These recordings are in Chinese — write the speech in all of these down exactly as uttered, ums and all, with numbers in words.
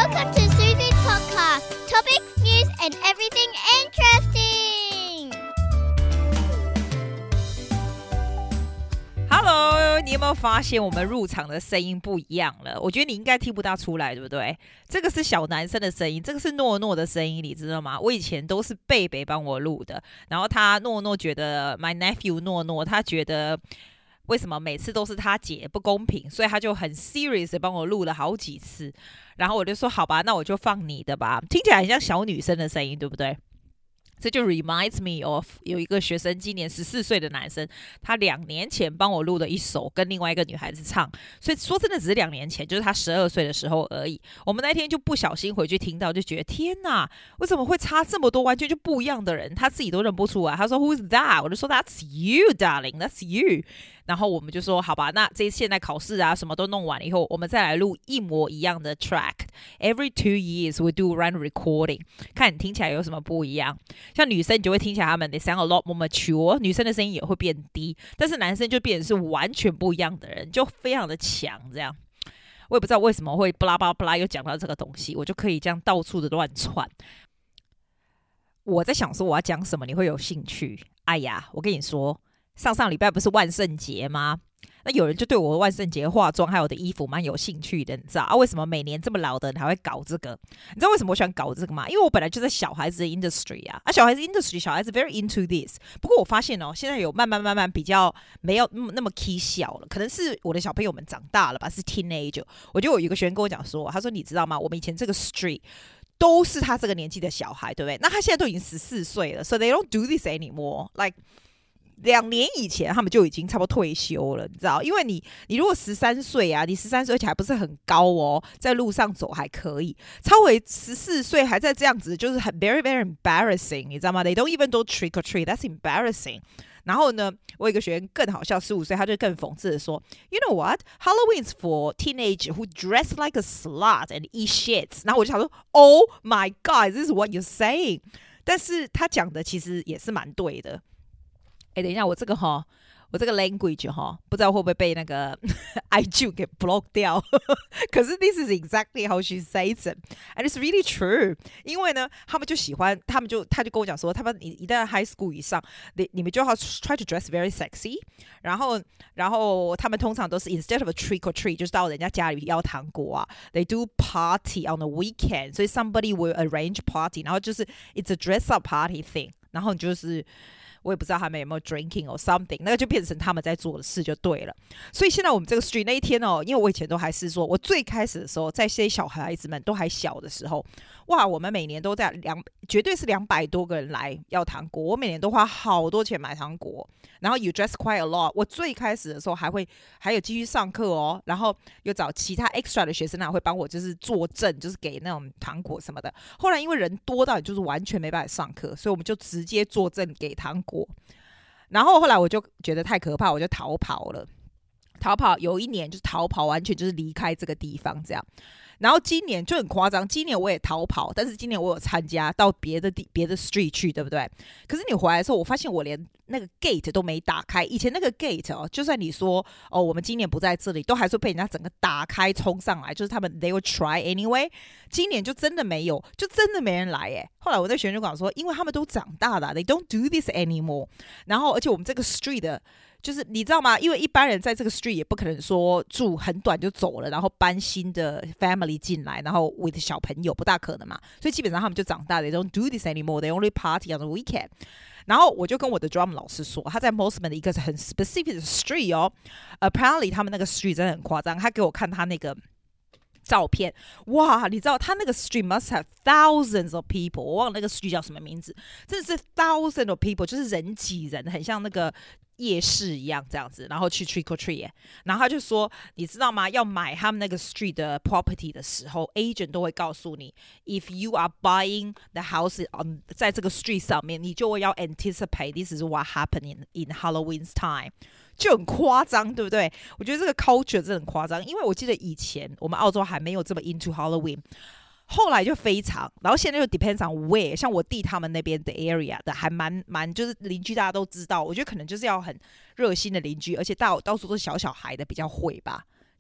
Welcome to Susie's podcast. Topics, news, and everything interesting. Hello， 你有沒有發現我們入場的聲音不一樣了？我覺得你應該聽不大出來，對不對？這個是小男生的聲音，這個是諾諾的聲音，你知道嗎？我以前都是貝貝幫我錄的，然後他諾諾覺得 my nephew 諾諾，他覺得為什麼每次都是他姐不公平，所以他就很 serious 的幫我錄了好幾次。然後我就說好吧，那我就放你的吧，聽起來很像小女生的聲音，對不對？這就 reminds me of 有一個學生，今年十四歲的男生，他兩年前幫我錄了一首跟另外一個女孩子唱，所以說真的只是兩年前，就是他十二歲的時候而已。我們那天就不小心回去聽到，就覺得天哪，為什麼會差這麼多，完全就不一樣的人，他自己都認不出來。他說 Who's that？ 我就說 That's you, darling, that's you。然後我們就說好吧，那這現在考試啊什麼都弄完了以後，我們再來錄一模一樣的 track。Every two years we do run recording， 看你聽起來有什麼不一樣。像女生你就會聽起來他們 they sound a lot more mature， 女生的聲音也會變低，但是男生就變成是完全不一樣的人，就非常的強這樣。我也不知道為什麼會巴拉巴拉巴拉又講到這個東西，我就可以這樣到處的亂竄。我在想說我要講什麼你會有興趣。哎呀，我跟你說，上上禮拜不是萬聖節嗎？那有人就對我的萬聖節化妝還有我的衣服蠻有興趣的，你知道啊？為什麼每年這麼老的人還會搞這個？你知道為什麼我喜歡搞這個嗎？因為我本來就在小孩子的 industry 啊，啊，小孩子 industry 小孩子 very into this。不過我發現哦，現在有慢慢慢慢比較沒有那麼 key 小了，可能是我的小朋友們長大了吧，是 teenager。我就有一個學生跟我講說，他說你知道嗎？我們以前這個 street 都是他這個年紀的小孩，對不對？那他現在都已經十四歲了 ，so they don't do this anymore， like。兩年以前他們就已經差不多退休了，你知道？因為你你如果十三歲啊，你十三歲而且還不是很高哦，在路上走還可以。超過十四歲還在這樣子，就是很 very very embarrassing， 你知道嗎 ？They don't even do trick or treat， that's embarrassing。然後呢，我有一個學員更好笑，十五歲他就更諷刺的說 ，You know what? Halloween is for teenagers who dress like a slut and eat shit。然後我就想說 ，Oh my God, this is what you're saying。但是他講的其實也是蠻對的。哎，等一下，我這個哈，我這個 language 哈，不知道會不會被那個 I G 給 block 掉。可是 this is exactly how she says it, and it's really true。因為呢，他們就喜歡，他們就他就跟我講說，他們一旦 high school 以上，你你們就要 try to dress very sexy。然後，然後他們通常都是 instead of a trick or treat， 就是到人家家裡要糖果啊 ，they do party on the weekend。所以 somebody will arrange party， 然後就是 it's a dress up party thing。然後就是。我也不知道他們有沒有 drinking or something， 那個就變成他們在做的事就對了。所以現在我們這個 street 那一天哦，因為我以前都還是說，我最開始的時候，在這些小孩子們都還小的時候，哇，我們每年都在兩，絕對是兩百多個人來要糖果，我每年都花好多錢買糖果。然後 you dress quite a lot， 我最開始的時候還會還有繼續上課哦，然後又找其他 extra 的學生啊，會幫我就是作證，就是給那種糖果什麼的。後來因為人多到就是完全沒辦法上課，所以我們就直接作證給糖果。然後後來我就覺得太可怕，我就逃跑了。逃跑有一年就是逃跑，完全就是離開這個地方這樣。然後今年就很誇張，今年我也逃跑，但是今年我有參加到別的地別的 street 去，對不對？可是你回來的時候，我發現我連那個 gate 都沒打開。以前那個 gate 哦，就算你說哦，我們今年不在這裡，都還是被人家整個打開衝上來，就是他們 they will try anyway。今年就真的沒有，就真的沒人來耶。後來我在學生就跟我說，因為他們都長大了 ，they don't do this anymore。然後而且我們這個 street 的。就是你知道嗎？因為一般人在這個 street 也不可能說住很短就走了，然後搬新的 family 進來，然後 with 小朋友不大可能嘛。所以基本上他們就長大了 ，they don't do this anymore. They only party on the weekend. 然後我就跟我的 drum 老師說，他在 Mosman 的一個很 specific 的 street 哦 ，apparently 他們那個 street 真的很誇張。他給我看他那個照片，哇，你知道他那個 street must have thousands of people， 我忘了那個 street 叫什麼名字，真的是 thousands of people， 就是人擠人，很像那個。夜市一樣這樣子，然後去 trick or treat， 然後他就說，你知道嗎？要買他們那個 street 的 property 的時候 ，agent 都會告訴你 ，if you are buying the house on 在這個 street 上面，你就會要 anticipate this is what happened in in Halloween's time， 就很誇張，對不對？我覺得這個 culture 真的很誇張，因為我記得以前我們澳洲還沒有這麼 into Halloween。後來就非常，然後現在就 depends on where， 像我弟他們那邊的 area 的還蠻蠻，就是鄰居大家都知道，我覺得可能就是要很熱心的鄰居，而且到到處都是小小孩的比較會吧，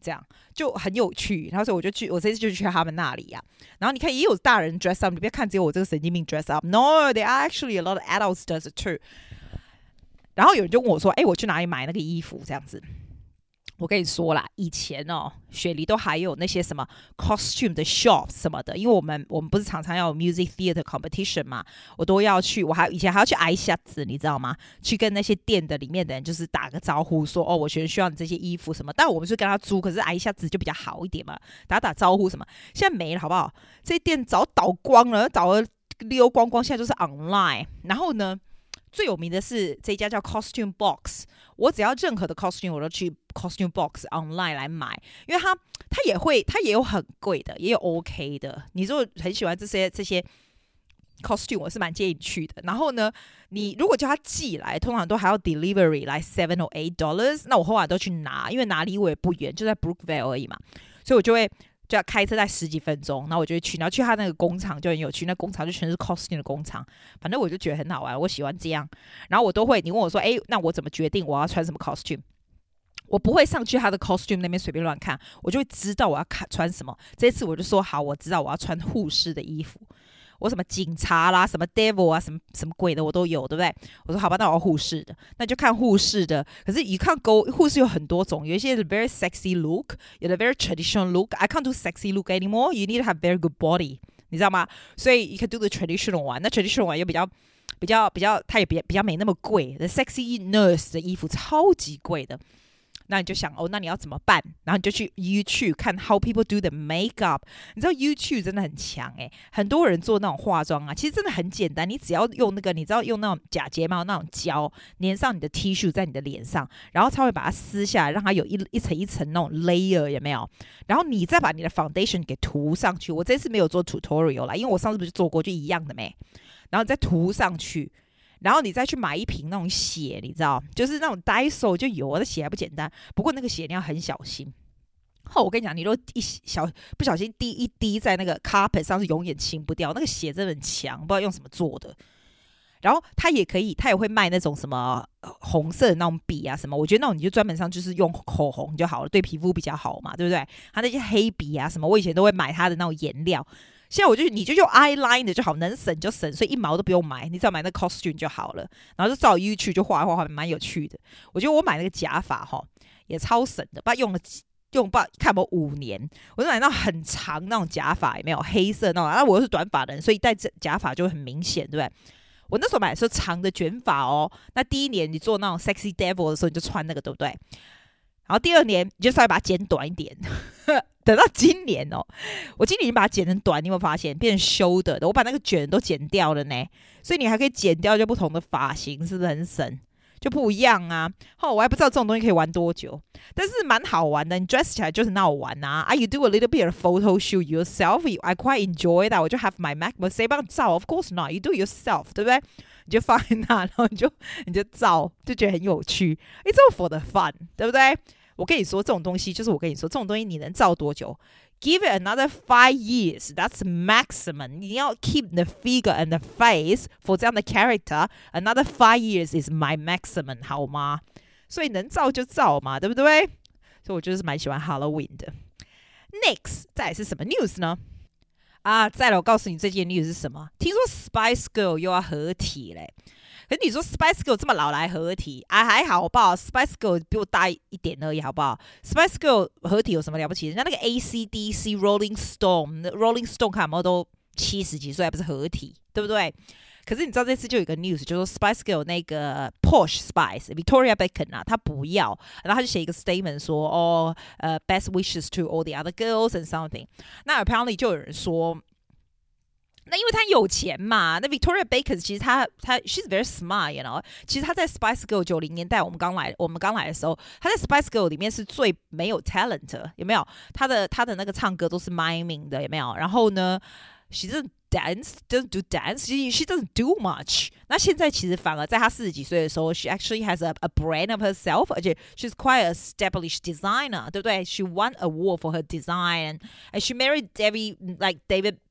這樣就很有趣。然後所以我就去，我這次就去他們那裡呀、啊。然後你看，也有大人 dress up， 你不要看只有我這個神經病 dress up。No, there are actually a lot of adults does it too。然後有人就問我說：“哎，我去哪裡買那個衣服？”這樣子。我跟你說啦，以前哦，雪梨都還有那些什麼 costume 的 shop 什麼的，因為我們我們不是常常要有 music theater competition 嘛，我都要去，我還以前還要去挨下子，你知道嗎？去跟那些店的裡面的人就是打個招呼說，說哦，我學生需要你這些衣服什麼，但我們是跟他租，可是挨下子就比較好一點嘛，打打招呼什麼，現在沒了，好不好？這些店早倒光了，倒了溜光光，現在就是 online。然後呢，最有名的是這一家叫 Costume Box， 我只要任何的 costume 我都去 Costume Box online 來買，因為它它也會，它也有很貴的，也有 OK 的。你如果很喜歡這些這些 costume， 我是蠻建議你去的。然後呢，你如果叫他寄來，通常都還要 delivery 來 seven or eight dollars， 那我後來都去拿，因為哪裡我也不遠，就在 Brookvale 而已嘛，所以我就會。就要開車在十幾分鐘，然後我就會去，然後去他那個工廠就很有趣，那工廠就全是 costume 的工廠，反正我就覺得很好玩，我喜歡這樣。然後我都會，你問我說，哎，那我怎麼決定我要穿什麼 costume？ 我不會上去他的 costume 那邊隨便亂看，我就會知道我要看穿什麼。這次我就說好，我知道我要穿護士的衣服。我什麼警察啦，什麼 devil 啊，什麼什麼鬼的我都有，對不對？我說好吧，那我要護士的，那就看護士的。可是you can't go，護士有很多種，有一些是 very sexy look， 有的 very traditional look。I can't do sexy look anymore. You need to have very good body， 你知道嗎？所以 you can do the traditional one。那 traditional one 又比較比較比較，它也比較比較沒那麼貴。The sexy nurse 的衣服超級貴的。那你就想哦，那你要怎麼辦？然後你就去 YouTube 看 How people do the makeup。你知道 YouTube 真的很強誒，很多人做那種化妝啊，其實真的很簡單。你只要用那個，你知道用那種假睫毛那種膠粘上你的 tissue 在你的臉上，然後才會把它撕下來，讓它有一一層一層那種 layer， 有沒有？然後你再把你的 foundation 給塗上去。我這次沒有做 tutorial 啦，因為我上次不是做過，就一樣的沒。然後再塗上去。然後你再去買一瓶那種血，你知道，就是那種 Daiso 就有，的血還不簡單。不過那個血你要很小心。哦，我跟你講，你如果一小不小心滴一滴在那個 carpet 上，是永遠清不掉。那個血真的很強，不知道用什麼做的。然後它也可以，它也會賣那種什麼紅色的那種筆啊什麼。我覺得那種你就專門上就是用口紅就好了，對皮膚比較好嘛，對不對？它那些黑筆啊什麼，我以前都會買它的那種顏料。現在我就你就用 eyeliner 就好，能省就省，所以一毛都不用買，你只要買那個 costume 就好了，然後就照 YouTube 就畫一畫，畫蠻有趣的。我覺得我買那個假髮哈也超省的，不知道用了用不知道看有沒有五年，我就買那種很長那種假髮，也沒有黑色那種，啊我又是短髮的人，所以戴假髮就會很明顯，對不對？我那時候買的時候長的捲髮哦，那第一年你做那種 sexy devil 的時候，你就穿那個，對不對？然後第二年你就稍微把它剪短一點。等到今年哦，我今年已經把它剪成短，你有沒有發現變成修的？我把那個捲都剪掉了呢，所以你還可以剪掉就不同的髮型，是不是很省？就不一樣啊！哦，我還不知道這種東西可以玩多久，但是蠻好玩的。你 dress 起來就是很好玩啊！啊 ，you do a little bit of photo shoot yourself. I quite enjoy that. 我就 have my Mac， 誰幫你照 ？Of course not. You do yourself， 對不對？你就放在那，然後你就你就照，就覺得很有趣。It's all for the fun， 對不对？我跟你說，這種東西就是我跟你說，這種東西你能照多久 ？Give it another five years. That's maximum. 你要 keep the figure and the face for 這樣的 character. Another five years is my maximum. 好嗎？所以能照就照嘛，對不對？所以我就是蠻喜歡 Halloween 的。Next， 再來是什麼 news 呢？啊，再來我告訴你這件 news 是什麼？聽說 Spice Girl 又要合體嘞。可是你說 Spice Girl 這麼老來合體，啊還好，好不好 ？Spice Girl 比我大一點而已，好不好 ？Spice Girl 合體有什麼了不起？人家那個 A C D C、Rolling Stone、Rolling Stone 看有沒有都七十幾歲，還不是合體，對不對？可是你知道這次就有一個 news，就說 Spice Girl 那個 Posh Spice Victoria Beckham 啊，她不要，然後她就寫一個 statement 說，哦，呃、uh, ，best wishes to all the other girls and something。那 apparently 就有人說。那因為他有錢嘛，那 Victoria Beckham 其實他他 she's very smart，you know。其實他在 Spice Girl 九零年代我們剛來我們剛來的時候，他在 Spice Girl 裡面是最沒有 talent， 有沒有？他的他的那個唱歌都是 miming 的，有沒有？然後呢 ，she doesn't dance, doesn't do dance, she she doesn't do much。那現在其實反而在他四十幾歲的時候 ，she actually has a a brand of herself， 而且 she's quite an established designer， 對不對？ She won award for her design，and she married David like David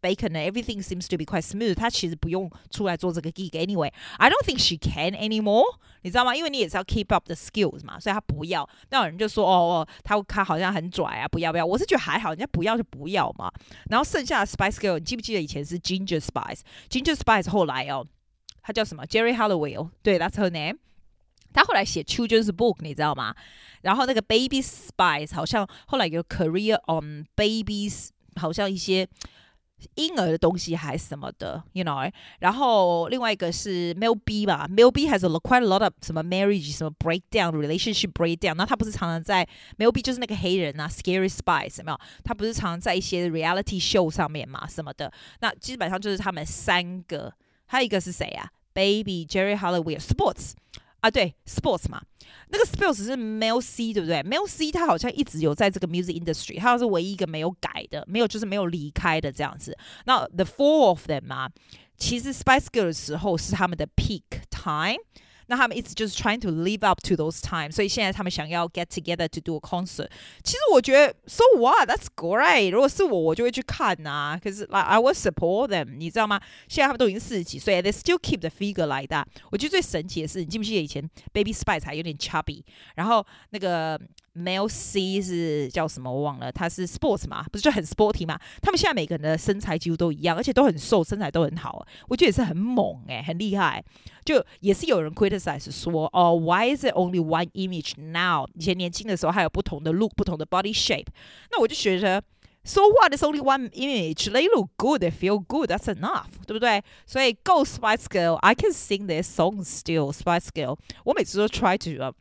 bacon and everything seems to be quite smooth， 她其實不用出來做這個 gig anyway. I don't think she can anymore， 你知道嗎？因為你也是要 keep up the skills 嘛，所以她不要。那有人就說哦，她她好像很拽啊，不要不要。我是覺得還好，人家不要就不要嘛。然後剩下的 Spice Girl， 你記不記得以前是 Ginger Spice？Ginger Spice 後來哦，她叫什麼 ？Jerry Halliwell， 對 ，That's her name。他後來寫 Children's Book， 你知道嗎？然後那個 Baby Spice 好像後來有 Career on Babies， 好像一些嬰兒的東西還是什麼的 ，you know。然後另外一個是 Mel B 吧 ，Mel B has a quite a lot of 什麼 marriage 什麼 breakdown，relationship breakdown。那他不是常常在 Mel B 就是那個黑人啊 ，Scary Spice 有沒有？他不是常常在一些 reality show 上面嘛，什麼的。那基本上就是他們三個，還有一個是誰啊 ？Baby、Jerry Halliwell、Sports。啊，對 ，Sports 嘛，那個 Sports 是 Mel C， 對不對 ？Mel C 他好像一直有在這個 music industry， 他是唯一一個沒有改的，沒有就是沒有離開的這樣子。那 The Four of them 嘛，其實 Spice Girl 的時候是他們的 peak time。那他們一直就是 trying to live up to those times， 所以現在他們想要 get together to do a concert。其實我覺得 so what that's great， 如果是我我就會去看啊，可是 like I will support them， 你知道嗎？現在他們都已經四十幾歲 ，they still keep the figure like that。我覺得最神奇的是，你記不記得以前 Baby Spice 還有點 chubby， 然後那個 Mel C 是叫什麼我忘了，他是 Sports 嘛，不是就很 sporty 嘛？他們現在每個人的身材幾乎都一樣，而且都很瘦，身材都很好，我覺得也是很猛哎、欸，很厲害。就也是有人 criticize 說，哦 ，Why is it only one image now？ 以前年輕的時候還有不同的 look， 不同的 body shape。那我就覺得 ，So what? It's only one image. They look good, they feel good. That's enough， 對不對？所以 Go Spice Girl, I can sing their songs still. Spice Girl， 我每次都 try to、uh,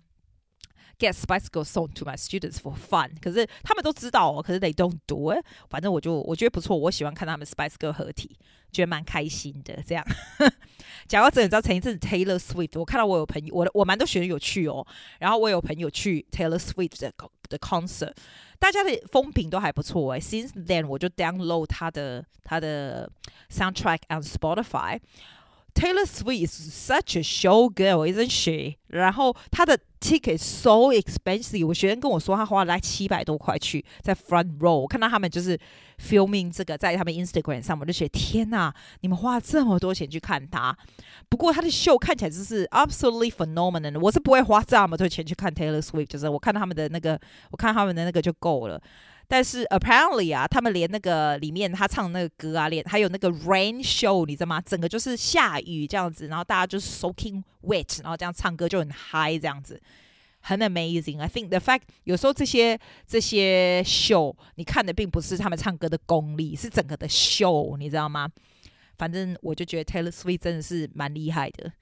get Spice Girl song to my students for fun。可是他們都知道哦，可是 they don't do it。反正我就我覺得不錯，我喜歡看他們 Spice Girl 合體，覺得蠻開心的這樣。講到這，你知道前一陣子 Taylor Swift， 我看到我有朋友，我我蠻多學生有去哦，然後我有朋友去 Taylor Swift 的的 concert， 大家的風評都還不錯哎。Since then， 我就 download 他的他的 soundtrack on Spotify。Taylor Swift is such a show girl, isn't she? 然後她的 ticket so expensive， 我學生跟我說，他花了大概七百多塊去在 front row。我看到他們就是 filming 這個在他們 Instagram 上，我就覺得天哪，你們花了這麼多錢去看他。不過他的秀看起來就是 absolutely phenomenal。我是不會花這麼多錢去看 Taylor Swift， 就是我看到他們的那個，我看他們的那個就夠了。但是 apparently 啊，他們連那個裡面他唱的那個歌啊，連還有那個 rain show， 你知道嗎？整個就是下雨這樣子，然後大家就是 soaking wet， 然後這樣唱歌就很嗨這樣子，很 amazing。I think the fact 有時候這些這些 show 你看的並不是他們唱歌的功力，是整個的 show， 你知道嗎？反正我就覺得 Taylor Swift 真的是蠻厲害的。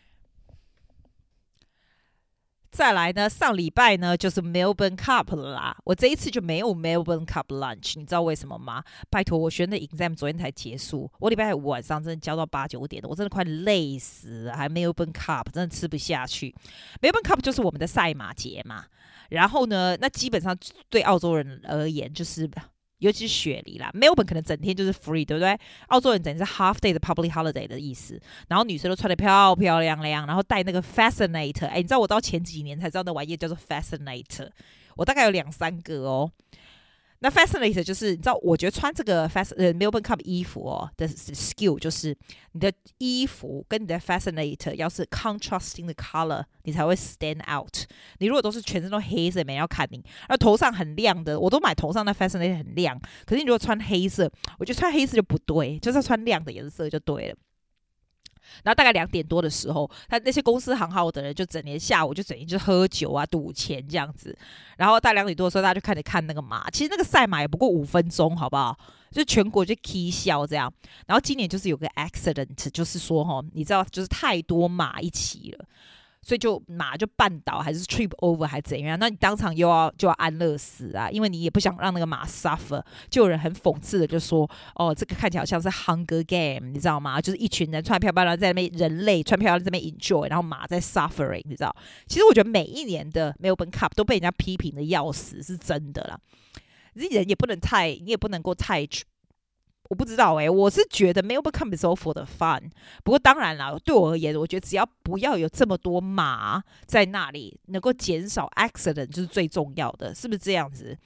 再來呢，上禮拜呢就是 Melbourne Cup 了啦。我這一次就沒有 Melbourne Cup lunch， 你知道為什麼嗎？拜託，我學生的 exam 昨天才結束，我禮拜五晚上真的教到八九點的，我真的快累死了，還 Melbourne Cup 真的吃不下去。Melbourne Cup 就是我們的賽馬節嘛。然後呢，那基本上對澳洲人而言就是尤其是雪梨啦 ，Melbourne 可能整天就是 free， 對不對？澳洲人整天是 half day 的 public holiday 的意思。然後女生都穿得漂漂亮亮，然後戴那個 fascinator。哎，你知道我到前幾年才知道那玩意叫做 fascinator， 我大概有兩三個哦。那 fascinator 就是你知道，我覺得穿這個 fast 呃 Melbourne Cup 衣服哦的 skill 就是你的衣服跟你的 fascinator 要是 contrasting 的 color， 你才會 stand out。你如果都是全身都黑色，沒人要看你。而頭上很亮的，我都買頭上的 fascinator 很亮。可是你如果穿黑色，我覺得穿黑色就不對，就是要穿亮的顏色就對了。然後大概兩點多的時候，他那些公司行號的人就整天下午就整天就喝酒啊、賭錢這樣子。然後大概兩點多的時候，大家就開始看那個馬。其實那個賽馬也不過五分鐘，好不好？就全國就 K 笑這樣。然後今年就是有個 accident， 就是說齁，你知道，就是太多馬一起了。所以就馬就絆倒，還是 trip over 還是怎樣？那你當場又要就要安樂死啊，因為你也不想讓那個馬 suffer。就有人很諷刺的就說：“哦，這個看起來好像是 Hunger Game， 你知道嗎？就是一群人穿漂漂亮亮在那邊，人類穿漂亮亮在那邊 enjoy， 然後馬在 suffering， 你知道？其實我覺得每一年的 Melbourne Cup 都被人家批評的要死，是真的啦。人也不能太，你也不能夠太。”我不知道哎、欸，我是覺得 Melbourne Cup is all for the fun。不過當然啦，對我而言，我覺得只要不要有這麼多馬在那裡，能夠減少 accident 就是最重要的，是不是這樣子？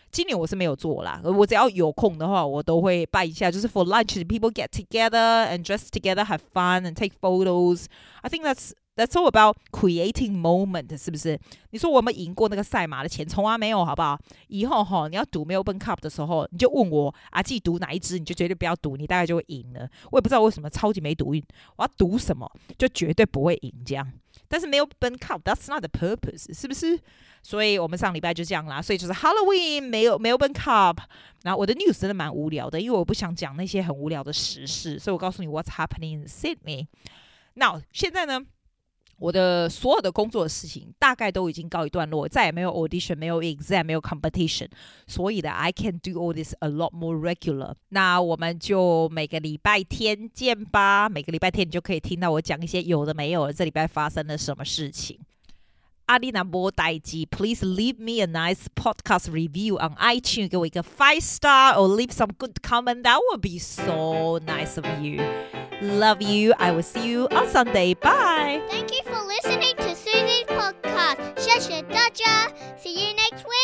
今年我是沒有做啦，我只要有空的話，我都會辦一下，就是 for lunch people get together and dress together, have fun and take photos. I think that's That's all about creating moment, 是不是？你說我有沒有贏過那個賽馬的錢？從來沒有，好不好？以後哈，你要賭 Melbourne Cup 的時候，你就問我啊，自己賭哪一支，你就絕對不要賭，你大概就會贏了。我也不知道為什麼超級沒賭運，我要賭什麼就絕對不會贏這樣。但是 Melbourne Cup, that's not the purpose, 是不是？所以我們上禮拜就這樣啦，所以就是 Halloween, Melbourne Cup。然後我的 news 真的蠻無聊的，因為我不想講那些很無聊的時事，所以我告訴你 what's happening in Sydney。那現在呢？我的所有的工作的事情大概都已經告一段落，再也沒有 audition， 沒有 exam， 沒有 competition， 所以呢 I can do all this a lot more regular。那我們就每個禮拜天見吧，每個禮拜天你就可以聽到我講一些有的沒有的，這禮拜發生了什麼事情。阿里那波代誌 ，Please leave me a nice podcast review on iTunes， 給我一個 five star or leave some good comment. That would be so nice of you. Love you. I will see you on Sunday. Bye. Thank you for listening to Susie's podcast. 謝謝大家. See you next week.